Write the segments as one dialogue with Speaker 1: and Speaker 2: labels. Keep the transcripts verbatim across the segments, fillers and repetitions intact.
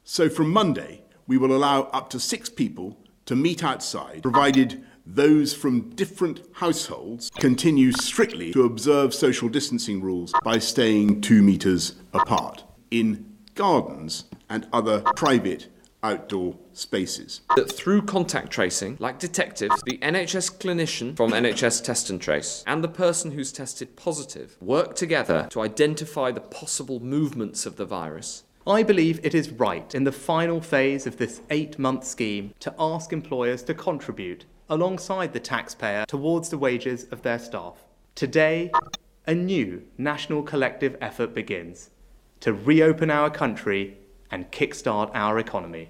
Speaker 1: So from Monday, we will allow up to six people to meet outside, provided those from different households continue strictly to observe social distancing rules by staying two metres apart in gardens and other private outdoor spaces.
Speaker 2: That through contact tracing, like detectives, the N H S clinician from N H S Test and Trace and the person who's tested positive work together to identify the possible movements of the virus.
Speaker 3: I believe it is right in the final phase of this eight-month scheme to ask employers to contribute alongside the taxpayer towards the wages of their staff. Today, a new national collective effort begins to reopen our country and kickstart our economy.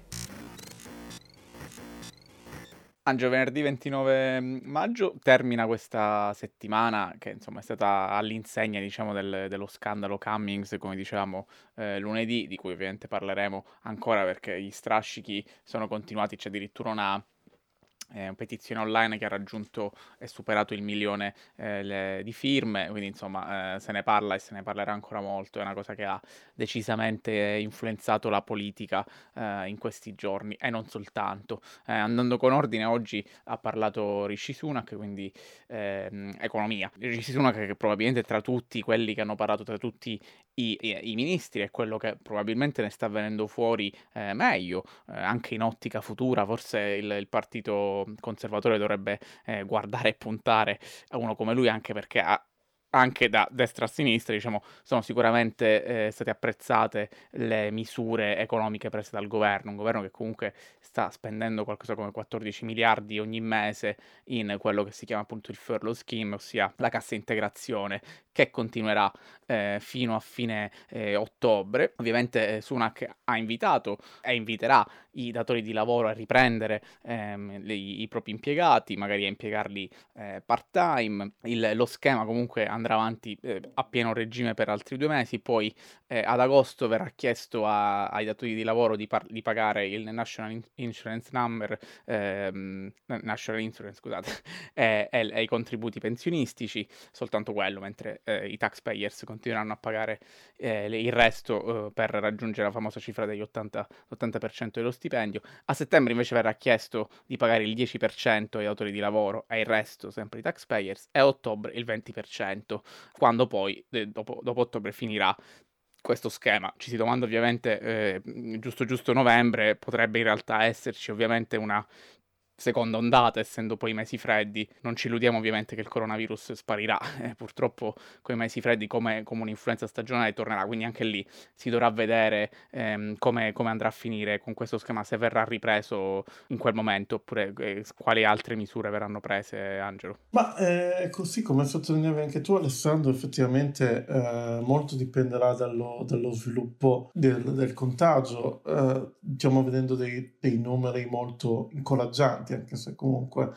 Speaker 4: Angelo, venerdì ventinove maggio termina questa settimana che insomma è stata all'insegna, diciamo, del, dello scandalo Cummings, come dicevamo eh, lunedì, di cui ovviamente parleremo ancora perché gli strascichi sono continuati. C'è addirittura una eh, una petizione online che ha raggiunto e superato il milione eh, le, di firme, quindi insomma eh, se ne parla e se ne parlerà ancora molto. È una cosa che ha decisamente influenzato la politica eh, in questi giorni e non soltanto. Eh, andando con ordine, oggi ha parlato Rishi Sunak, quindi ehm, economia. Rishi Sunak, che probabilmente tra tutti quelli che hanno parlato, tra tutti i, i, i ministri, è quello che probabilmente ne sta venendo fuori eh, meglio, eh, anche in ottica futura. Forse il, il partito conservatore dovrebbe eh, guardare e puntare a uno come lui, anche perché ha anche da destra a sinistra, diciamo, sono sicuramente eh, state apprezzate le misure economiche prese dal governo, un governo che comunque sta spendendo qualcosa come quattordici miliardi ogni mese in quello che si chiama appunto il furlough scheme, ossia la cassa integrazione, che continuerà eh, fino a fine eh, ottobre. Ovviamente eh, Sunak ha invitato e inviterà i datori di lavoro a riprendere ehm, le, i propri impiegati, magari a impiegarli eh, part-time. Il, lo schema comunque andrà avanti eh, a pieno regime per altri due mesi, poi eh, ad agosto verrà chiesto a, ai datori di lavoro di, par- di pagare il National Insurance Number, ehm, National Insurance, scusate, e, e, e i contributi pensionistici, soltanto quello, mentre eh, i taxpayers continueranno a pagare eh, il resto eh, per raggiungere la famosa cifra degli ottanta per cento dello stipendio. A settembre invece verrà chiesto di pagare il dieci per cento ai datori di lavoro e il resto sempre i taxpayers, e a ottobre il venti per cento, quando poi eh, dopo, dopo ottobre finirà questo schema. Ci si domanda ovviamente, eh, giusto giusto novembre potrebbe in realtà esserci ovviamente una seconda ondata, essendo poi i mesi freddi. Non ci illudiamo ovviamente che il coronavirus sparirà, eh, purtroppo con i mesi freddi come, come un'influenza stagionale tornerà, quindi anche lì si dovrà vedere ehm, come, come andrà a finire con questo schema, se verrà ripreso in quel momento oppure eh, quali altre misure verranno prese, Angelo.
Speaker 5: Ma eh, così come sottolineavi anche tu, Alessandro, effettivamente eh, molto dipenderà dallo, dallo sviluppo del, del contagio. Eh, stiamo vedendo dei, dei numeri molto incoraggianti, anche se comunque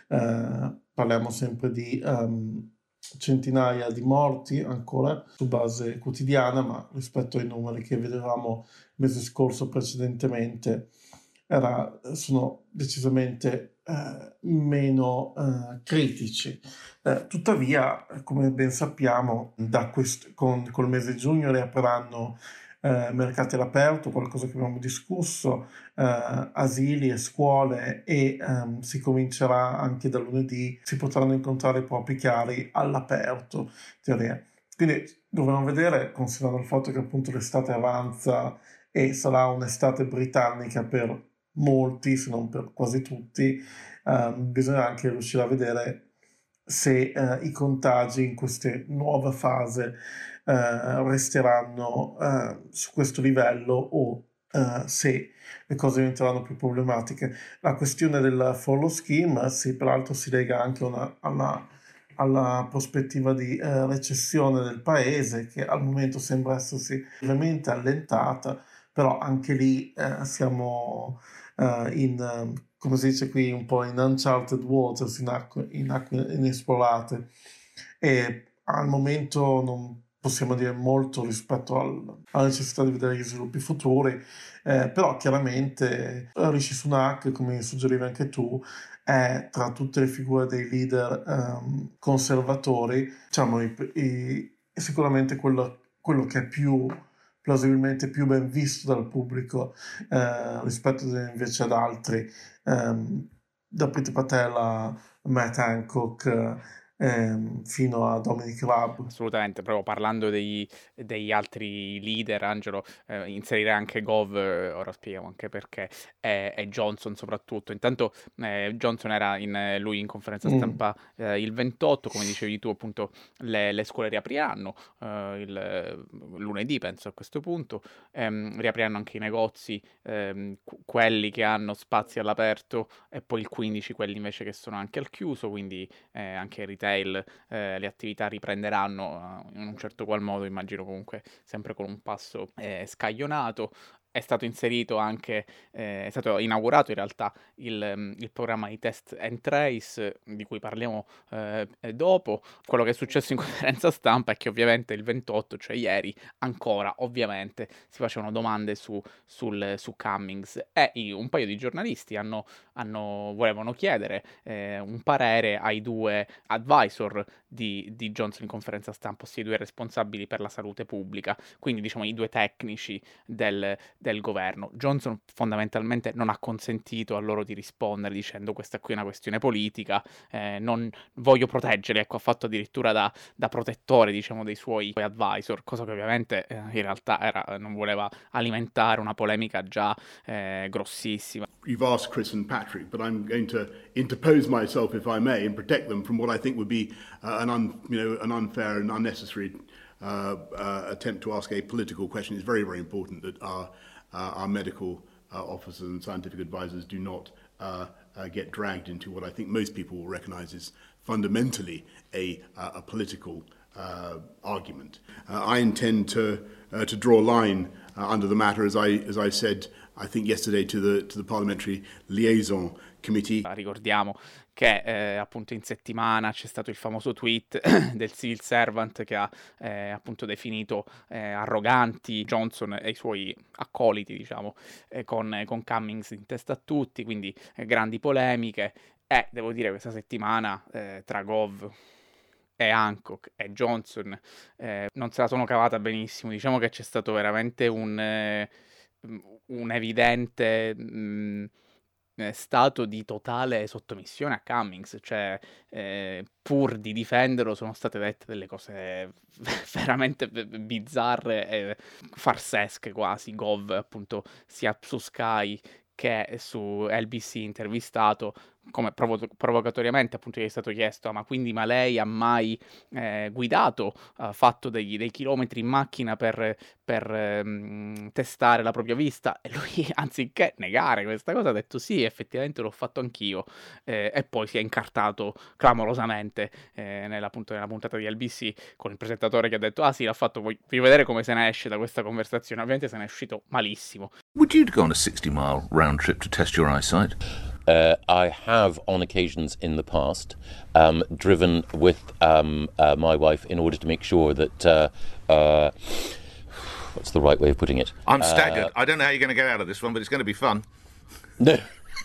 Speaker 5: eh, parliamo sempre di um, centinaia di morti ancora su base quotidiana, ma rispetto ai numeri che vedevamo il mese scorso precedentemente era, sono decisamente eh, meno eh, critici. Eh, tuttavia, come ben sappiamo, da quest- con col mese di giugno riapriranno eh, mercati all'aperto, qualcosa che abbiamo discusso, eh, asili e scuole, e ehm, si comincerà anche da lunedì, si potranno incontrare i propri cari all'aperto, in teoria. Quindi dovremo vedere, considerando il fatto che appunto l'estate avanza e sarà un'estate britannica per molti, se non per quasi tutti, ehm, bisogna anche riuscire a vedere se eh, i contagi in questa nuova fase eh, resteranno eh, su questo livello o eh, se le cose diventeranno più problematiche. La questione del furlough scheme, sì, peraltro si lega anche una, alla, alla prospettiva di eh, recessione del paese, che al momento sembra essersi ovviamente allentata, però anche lì eh, siamo uh, in, um, come si dice qui, un po' in uncharted waters, in acque, in acque inesplorate, e al momento non possiamo dire molto rispetto al, alla necessità di vedere gli sviluppi futuri, eh, però chiaramente Rishi Sunak, come suggerivi anche tu, è tra tutte le figure dei leader um, conservatori, diciamo, i, i, sicuramente quello, quello che è più plausibilmente più ben visto dal pubblico eh, rispetto invece ad altri, ehm, da Priti Patel a Matt Hancock, ehm, fino a Dominic Raab.
Speaker 4: Assolutamente, proprio parlando dei, degli altri leader, Angelo, eh, inserire anche Gov, eh, ora spieghiamo anche perché, e, e Johnson soprattutto. Intanto eh, Johnson era in, eh, lui in conferenza stampa eh, il ventotto, come dicevi tu, appunto le, le scuole riapriranno eh, il lunedì, penso a questo punto, ehm, riapriranno anche i negozi, ehm, qu- quelli che hanno spazi all'aperto, e poi il quindici quelli invece che sono anche al chiuso, quindi eh, anche il retail, eh, le attività riprenderanno eh, in un certo qual modo, immagino comunque sempre con un passo eh, scaglionato. È stato inserito anche, eh, è stato inaugurato in realtà il, mm, il programma di test and trace, di cui parliamo eh, dopo. Quello che è successo in conferenza stampa è che ovviamente il ventotto, cioè ieri, ancora ovviamente si facevano domande su, sul, su Cummings, e i- un paio di giornalisti hanno, hanno- volevano chiedere eh, un parere ai due advisor di, di Johnson in conferenza stampa, ossia i due responsabili per la salute pubblica, quindi diciamo i due tecnici del, del governo. Johnson fondamentalmente non ha consentito a loro di rispondere dicendo questa qui è una questione politica, eh, non voglio proteggerli, ecco, ha fatto addirittura da, da protettore, diciamo, dei suoi advisor, cosa che ovviamente eh, in realtà era, non voleva alimentare una polemica già eh, grossissima.
Speaker 1: You've asked Chris and Patrick, but I'm going to interpose myself, if I may, and protect them from what I think would be uh, an, un, you know, an unfair and unnecessary uh, uh, attempt to ask a political question. It's very, very important that our, uh, our medical uh, officers and scientific advisors do not uh, uh, get dragged into what I think most people will recognise is fundamentally a, uh, a political uh, argument. Uh, I intend to, uh, to draw a line uh, under the matter, as I, as I said, I think yesterday to the, to the Parliamentary Liaison Committee.
Speaker 4: Ricordiamo che eh, appunto in settimana c'è stato il famoso tweet del civil servant che ha eh, appunto definito eh, arroganti Johnson e i suoi accoliti, diciamo, eh, con, con Cummings in testa a tutti, quindi eh, grandi polemiche. E devo dire questa settimana eh, tra Gov e Hancock e Johnson eh, non se la sono cavata benissimo. Diciamo che c'è stato veramente un... Eh, un evidente mh, stato di totale sottomissione a Cummings, cioè eh, pur di difenderlo sono state dette delle cose veramente bizzarre e farsesche quasi. Gov appunto sia su Sky che su L B C intervistato, come provo- provocatoriamente appunto gli è stato chiesto: ah, ma quindi ma lei ha mai eh, guidato, ha fatto degli, dei chilometri in macchina per, per ehm, testare la propria vista? E lui, anziché negare questa cosa, ha detto sì, effettivamente l'ho fatto anch'io, eh, e poi si è incartato clamorosamente eh, nella, appunto, nella puntata di L B C con il presentatore che ha detto ah sì, l'ha fatto, voglio vedere come se ne esce da questa conversazione. Ovviamente se ne è uscito malissimo.
Speaker 6: Would you go on a sixty mile round trip to test your eyesight?
Speaker 7: Uh, I have, on occasions in the past, um, driven with um, uh, my wife in order to make sure that, uh, uh, what's the right way of putting it?
Speaker 6: I'm staggered.
Speaker 7: Uh,
Speaker 6: I don't know how you're going to get out of this one, but it's going to be fun.
Speaker 7: No.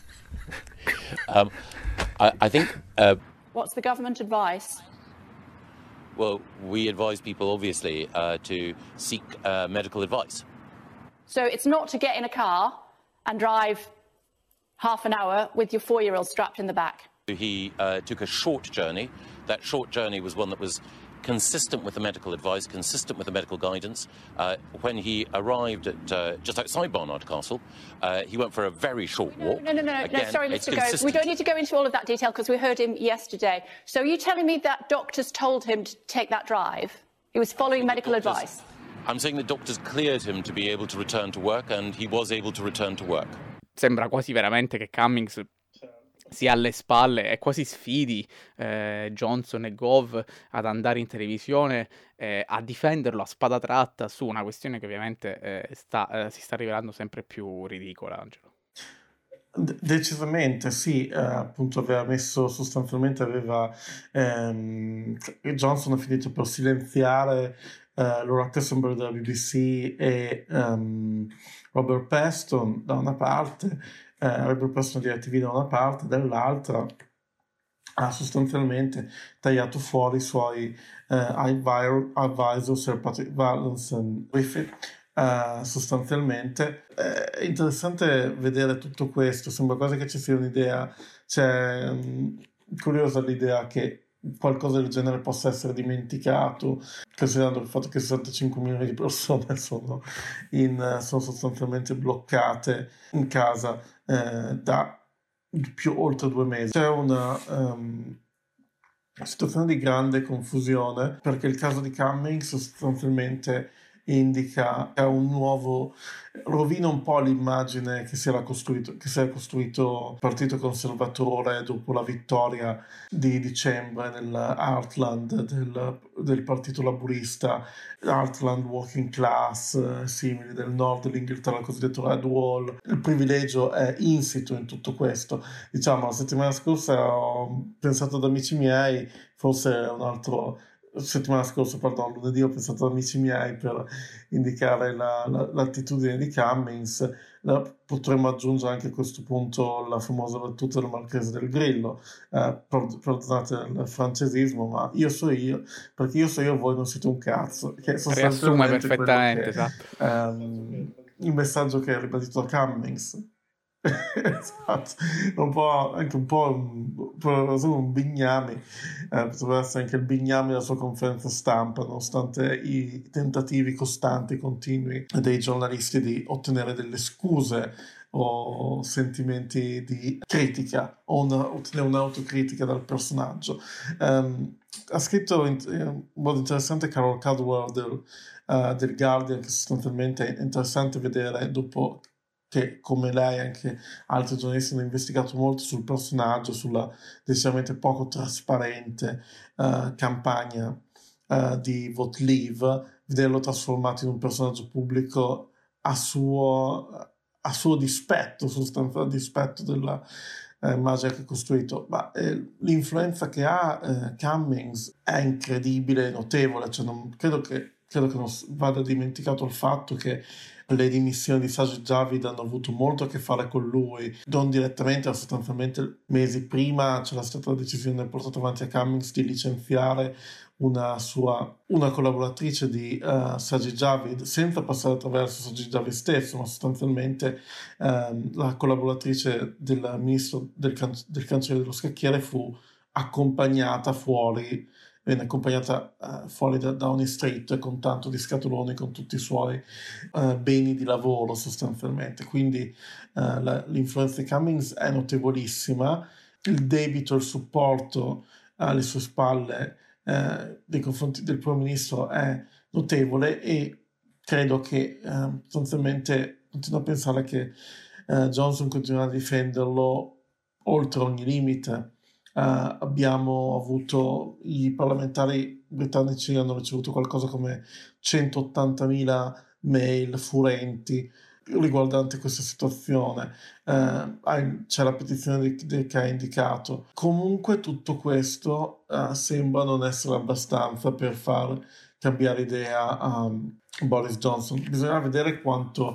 Speaker 7: um, I, I think... Uh,
Speaker 8: What's the government advice?
Speaker 7: well, we advise people, obviously, uh, to seek uh, medical advice.
Speaker 8: So it's not to get in a car and drive half an hour with your four-year-old strapped in the back.
Speaker 7: He uh, took a short journey. That short journey was one that was consistent with the medical advice, consistent with the medical guidance. Uh, when he arrived at uh, just outside Barnard Castle, uh, he went for a very short walk.
Speaker 8: No, no, no, no,
Speaker 7: Again,
Speaker 8: no sorry,
Speaker 7: it's
Speaker 8: Mister Gove.
Speaker 7: consistent.
Speaker 8: We don't need to go into all of that detail because we heard him yesterday. So are you telling me that doctors told him to take that drive? He was following medical
Speaker 7: doctors,
Speaker 8: advice?
Speaker 7: I'm saying the doctors cleared him to be able to return to work, and he was able to return to work.
Speaker 4: Sembra quasi veramente che Cummings sia alle spalle e quasi sfidi eh, Johnson e Gove ad andare in televisione eh, a difenderlo a spada tratta su una questione che ovviamente eh, sta, eh, si sta rivelando sempre più ridicola, Angelo.
Speaker 5: De- decisamente sì, eh, appunto aveva messo sostanzialmente aveva ehm, Johnson ha finito per silenziare eh, Laura Tessenberg della B B C e ehm, Robert Peston da una parte, eh, Robert Peston di I T V da una parte, dall'altra ha sostanzialmente tagliato fuori i suoi eh, advisor, advisor Sir Patrick Vallance e Griffith, uh, sostanzialmente. È interessante vedere tutto questo, sembra quasi che ci sia un'idea, c'è um, curiosa l'idea che qualcosa del genere possa essere dimenticato, considerando il fatto che sessantacinque milioni di persone sono, in, sono sostanzialmente bloccate in casa eh, da più oltre due mesi. C'è una um, situazione di grande confusione perché il caso di Cummings sostanzialmente indica un nuovo, rovina un po' l'immagine che si era costruito, che si era costruito il Partito Conservatore dopo la vittoria di dicembre nel Heartland del, del Partito Laburista, Heartland Working Class, eh, simili del nord dell'Inghilterra, il cosiddetto Red Wall. Il privilegio è insito in tutto questo. Diciamo, la settimana scorsa ho pensato ad amici miei, forse un altro settimana scorsa, perdono, lunedì ho pensato ad amici miei per indicare la, la, l'attitudine di Cummings. La, potremmo aggiungere anche a questo punto la famosa battuta del Marchese del Grillo, eh, perdonate il francesismo, ma io so io, perché io so io, voi non siete un cazzo, che
Speaker 4: riassume perfettamente,
Speaker 5: che,
Speaker 4: esatto.
Speaker 5: um, il messaggio che ha ribadito Cummings. Esatto, un po' anche un po' un, un bignami, eh, potrebbe essere anche il bignami della sua conferenza stampa, nonostante i tentativi costanti, continui dei giornalisti di ottenere delle scuse o sentimenti di critica o una, ottenere un'autocritica dal personaggio. Um, ha scritto in, in un modo interessante Carol Cadwell del, uh, del Guardian, che sostanzialmente è interessante vedere dopo che, come lei, anche altri giornalisti hanno investigato molto sul personaggio, sulla decisamente poco trasparente uh, campagna uh, di Vote Leave, vederlo trasformato in un personaggio pubblico a suo, a suo dispetto, sostanzialmente a dispetto della eh, immagine che ha costruito. Ma eh, l'influenza che ha eh, Cummings è incredibile, notevole, cioè non, credo che credo che non vada dimenticato il fatto che le dimissioni di Sajid Javid hanno avuto molto a che fare con lui, non direttamente, ma sostanzialmente mesi prima c'era stata la decisione portata avanti a Cummings di licenziare una sua una collaboratrice di uh, Sajid Javid, senza passare attraverso Sajid Javid stesso, ma sostanzialmente um, la collaboratrice del ministro del, can- del cancelliere dello scacchiere fu accompagnata fuori venne accompagnata uh, fuori da Downing Street con tanto di scatoloni con tutti i suoi uh, beni di lavoro sostanzialmente. Quindi uh, la, l'influenza di Cummings è notevolissima, il debito, il supporto alle sue spalle uh, nei confronti del primo ministro è notevole, e credo che uh, sostanzialmente continuo a pensare che uh, Johnson continuerà a difenderlo oltre ogni limite. Uh, abbiamo avuto, i parlamentari britannici hanno ricevuto qualcosa come centottantamila mail furenti riguardante questa situazione. Uh, c'è la petizione di, di, che ha indicato. Comunque tutto questo uh, sembra non essere abbastanza per far cambiare idea a um, Boris Johnson. Bisognerà vedere quanto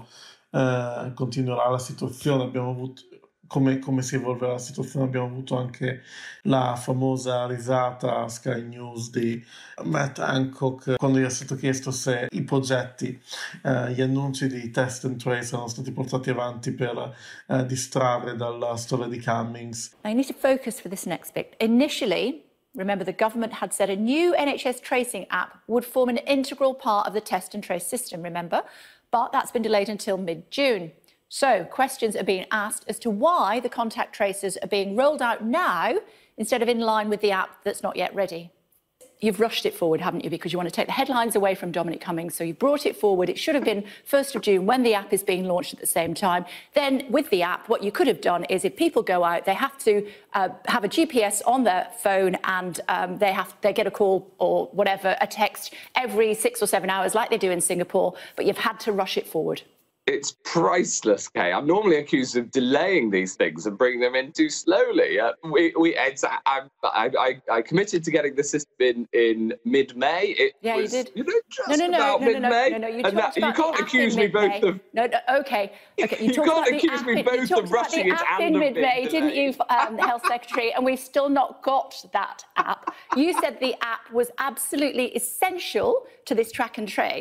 Speaker 5: uh, continuerà la situazione. Abbiamo avuto Come, come si evolverà la situazione. Abbiamo avuto anche la famosa risata a Sky News di Matt Hancock quando gli è stato chiesto se i progetti, eh, gli annunci di test and trace erano stati portati avanti per eh, distrarre dalla storia di Cummings.
Speaker 8: Now you need to focus for this next bit. Initially, remember, the government had said a new N H S tracing app would form an integral part of the test and trace system, remember? But that's been delayed until mid-June. So questions are being asked as to why the contact tracers are being rolled out now instead of in line with the app that's not yet ready. You've rushed it forward, haven't you, because you want to take the headlines away from Dominic Cummings, so you've brought it forward. It should have been first of June when the app is being launched at the same time. Then with the app, what you could have done is if people go out, they have to uh, have a G P S on their phone, and um, they have they get a call or whatever, a text every six or seven hours like they do in Singapore, but you've had to rush it forward.
Speaker 2: It's priceless, Kay. I'm normally accused of delaying these things and bringing them in too slowly. Uh, we, we, it's, I, I, I, I committed to getting the system in in mid-May. It
Speaker 8: yeah,
Speaker 2: was,
Speaker 8: you did.
Speaker 2: You know, just
Speaker 8: no, no, no,
Speaker 2: about
Speaker 8: no, no,
Speaker 2: mid-May.
Speaker 8: no, no, no. You,
Speaker 2: and that, you can't accuse me both of.
Speaker 8: No, no, okay, okay. You,
Speaker 2: you
Speaker 8: talked
Speaker 2: can't
Speaker 8: about
Speaker 2: accuse
Speaker 8: the
Speaker 2: me
Speaker 8: app
Speaker 2: both
Speaker 8: in,
Speaker 2: of rushing it
Speaker 8: app
Speaker 2: and
Speaker 8: in
Speaker 2: of
Speaker 8: mid-May, didn't you, um, the Health Secretary? And we've still not got that app. You said the app was absolutely essential to this track and trace.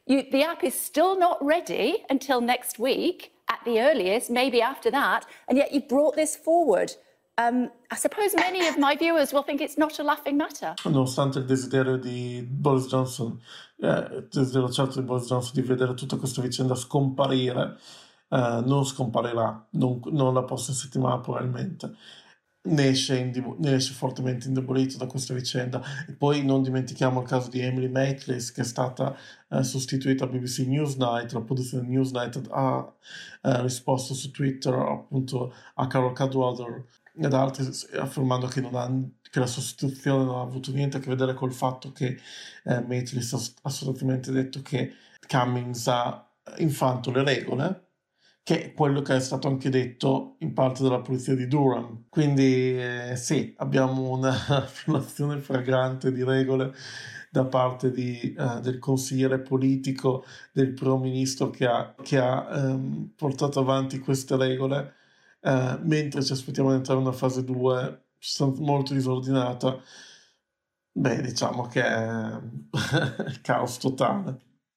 Speaker 8: You, the app is still not ready until next week at the earliest, maybe after that, and yet you've brought this forward. Um, I suppose many of my viewers will think it's not a laughing matter.
Speaker 5: Nonostante il desiderio di Boris Johnson, eh, il desiderio certo di Boris Johnson di vedere tutta questa vicenda scomparire, eh, non scomparirà, non, non la prossima settimana probabilmente. Ne esce, indivo- ne esce fortemente indebolito da questa vicenda. E poi non dimentichiamo il caso di Emily Maitlis, che è stata eh, sostituita a B B C Newsnight. La produzione Newsnight ha eh, risposto su Twitter appunto a Carol Cadwallader ed altri, affermando che, non ha, che la sostituzione non ha avuto niente a che vedere col fatto che eh, Maitlis ha assolutamente detto che Cummings ha infanto le regole, che è quello che è stato anche detto in parte dalla polizia di Durham. Quindi eh, sì, abbiamo una violazione flagrante di regole da parte di, uh, del consigliere politico del primo ministro che ha, che ha um, portato avanti queste regole, uh, mentre ci aspettiamo di entrare in una fase due molto disordinata. Beh, diciamo che è caos totale.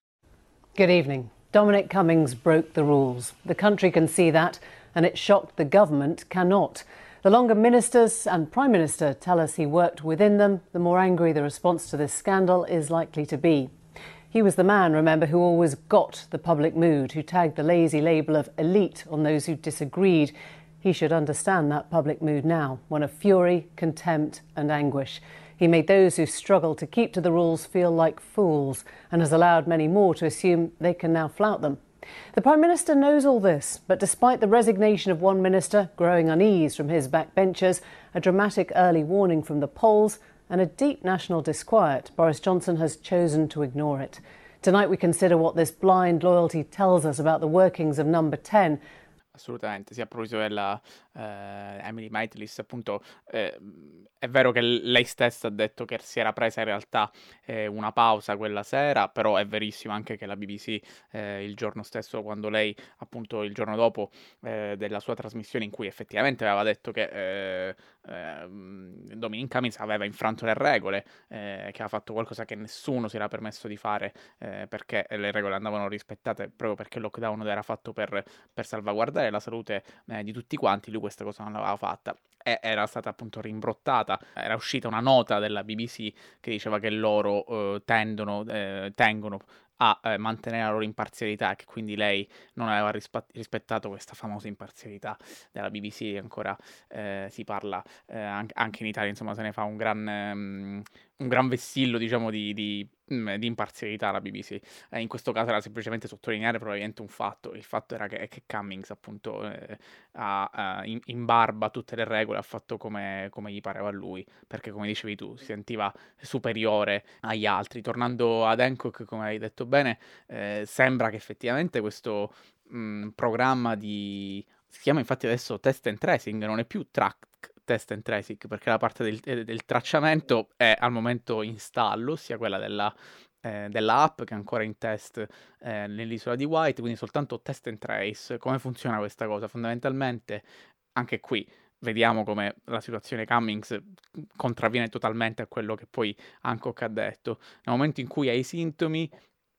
Speaker 9: Good evening. Dominic Cummings broke the rules. The country can see that, and it's shocked the government cannot. The longer ministers and Prime Minister tell us he worked within them, the more angry the response to this scandal is likely to be. He was the man, remember, who always got the public mood, who tagged the lazy label of elite on those who disagreed. He should understand that public mood now, one of fury, contempt and anguish. He made those who struggle to keep to the rules feel like fools and has allowed many more to assume they can now flout them. The Prime Minister knows all this, but despite the resignation of one minister, growing unease from his backbenchers, a dramatic early warning from the polls and a deep national disquiet, Boris Johnson has chosen to ignore it. Tonight we consider what this blind loyalty tells us about the workings of Number ten.
Speaker 4: Assolutamente, sì, a proposito della eh, Emily Maitlis, appunto, eh, è vero che lei stessa ha detto che si era presa in realtà eh, una pausa quella sera, però è verissimo anche che la B B C eh, il giorno stesso, quando lei, appunto, il giorno dopo eh, della sua trasmissione in cui effettivamente aveva detto che eh, eh, Dominic Cummings aveva infranto le regole, eh, che aveva fatto qualcosa che nessuno si era permesso di fare eh, perché le regole andavano rispettate proprio perché il lockdown era fatto per, per salvaguardare la salute eh, di tutti quanti, lui questa cosa non l'aveva fatta e era stata appunto rimbrottata. Era uscita una nota della B B C che diceva che loro eh, tendono, eh, tengono a eh, mantenere la loro imparzialità e che quindi lei non aveva rispa- rispettato questa famosa imparzialità della B B C. Ancora eh, si parla eh, anche, anche in Italia, insomma, se ne fa un gran, um, un gran vessillo, diciamo, di, di, um, di imparzialità la B B C. Eh, in questo caso era semplicemente sottolineare probabilmente un fatto. Il fatto era che, che Cummings appunto eh, ha, ha in, in barba tutte le regole, ha fatto come, come gli pareva a lui, perché come dicevi tu si sentiva superiore agli altri. Tornando ad Hancock, come hai detto bene, eh, sembra che effettivamente questo mh, programma di... si chiama infatti adesso Test and Tracing, non è più Track Test and Tracing, perché la parte del, del tracciamento è al momento in stallo, sia quella della, eh, della app che è ancora in test eh, nell'isola di White, quindi soltanto Test and Trace. Come funziona questa cosa? Fondamentalmente anche qui vediamo come la situazione Cummings contravviene totalmente a quello che poi Hancock ha detto. Nel momento in cui hai sintomi,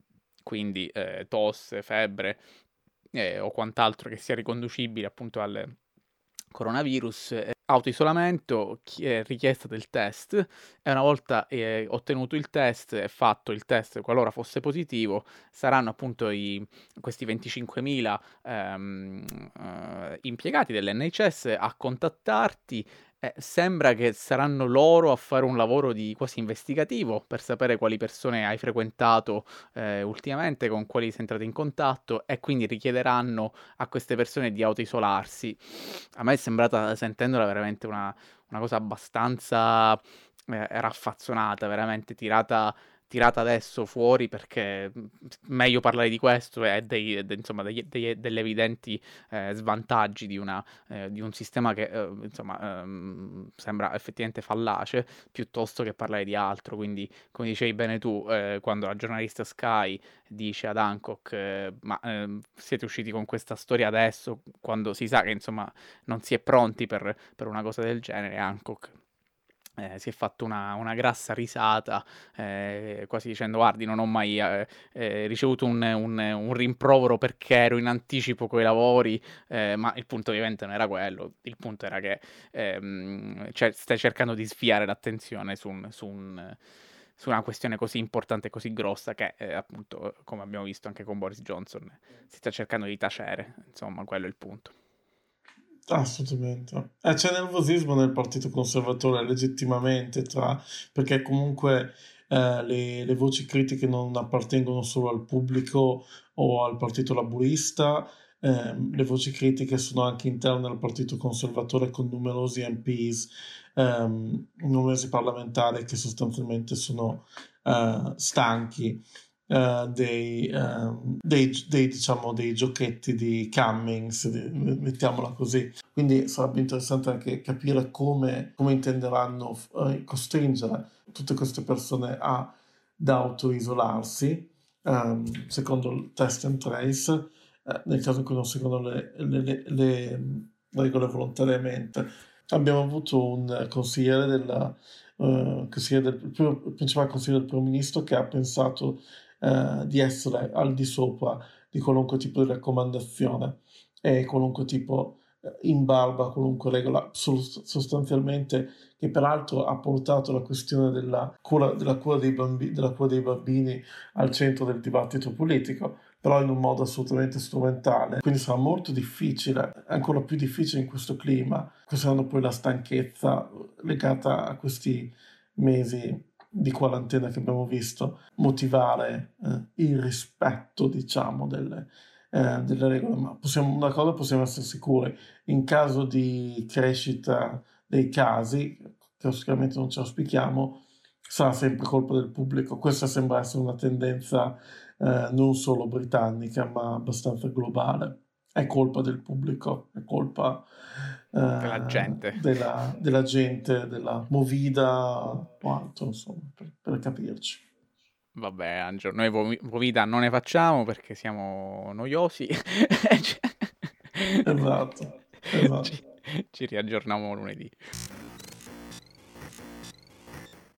Speaker 4: quindi eh, tosse, febbre eh, o quant'altro che sia riconducibile appunto al coronavirus, eh, autoisolamento, eh, richiesta del test, e una volta eh, ottenuto il test e fatto il test, qualora fosse positivo, saranno appunto i, questi venticinquemila ehm, eh, impiegati dell'N H S a contattarti. Eh, sembra che saranno loro a fare un lavoro di quasi investigativo per sapere quali persone hai frequentato eh, ultimamente, con quali sei entrato in contatto, e quindi richiederanno a queste persone di autoisolarsi. A me è sembrata, sentendola, veramente una, una cosa abbastanza eh, raffazzonata, veramente tirata tirata adesso fuori, perché meglio parlare di questo e dei, de, insomma, degli, degli, degli evidenti eh, svantaggi di, una, eh, di un sistema che eh, insomma ehm, sembra effettivamente fallace, piuttosto che parlare di altro. Quindi, come dicevi bene tu, eh, quando la giornalista Sky dice ad Hancock eh, ma eh, siete usciti con questa storia adesso, quando si sa che insomma non si è pronti per, per una cosa del genere, Hancock Eh, si è fatto una, una grassa risata, eh, quasi dicendo: guardi, non ho mai eh, eh, ricevuto un, un- un rimprovero perché ero in anticipo coi lavori, eh, ma il punto ovviamente non era quello, il punto era che ehm, cioè, stai cercando di sviare l'attenzione su, un- su un- su una questione così importante e così grossa che, eh, appunto, come abbiamo visto anche con Boris Johnson, si sta cercando di tacere, insomma, quello è il punto.
Speaker 5: Assolutamente. E c'è nervosismo nel Partito Conservatore legittimamente, tra, perché comunque eh, le, le voci critiche non appartengono solo al pubblico o al Partito Laburista, ehm, le voci critiche sono anche interne al Partito Conservatore con numerosi M Ps, ehm, numerosi parlamentari che sostanzialmente sono eh, stanchi eh, dei, ehm, dei, dei, diciamo, dei giochetti di Cummings, di- mettiamola così. Quindi sarebbe interessante anche capire come, come intenderanno eh, costringere tutte queste persone a, ad autoisolarsi, ehm, secondo il test and trace, eh, nel caso in cui non seguono le, le- le- le regole volontariamente. Abbiamo avuto un consigliere della, eh, consigliere del, il primo- il principale consigliere del primo ministro che ha pensato eh, di essere al di sopra di qualunque tipo di raccomandazione e qualunque tipo eh, in barba a qualunque regola, sos- sostanzialmente, che peraltro ha portato la questione della cura, della cura dei bambi- della cura dei bambini al centro del dibattito politico, però in un modo assolutamente strumentale. Quindi sarà molto difficile, ancora più difficile in questo clima. Questa saranno poi la stanchezza legata a questi mesi di quarantena che abbiamo visto, motivare eh, il rispetto, diciamo, delle, eh, delle regole. Ma possiamo, una cosa possiamo essere sicuri: in caso di crescita dei casi, che sicuramente non ci auspichiamo, sarà sempre colpa del pubblico. Questa sembra essere una tendenza eh, non solo britannica, ma abbastanza globale. È colpa del pubblico, è colpa
Speaker 4: Della
Speaker 5: eh,
Speaker 4: gente.
Speaker 5: della, della gente, della movida, quanto, insomma, per, per capirci.
Speaker 4: Vabbè, Angelo, noi vomi- vomita non ne facciamo perché siamo noiosi.
Speaker 5: Esatto,
Speaker 4: Ci,
Speaker 5: esatto.
Speaker 4: ci riaggiorniamo lunedì.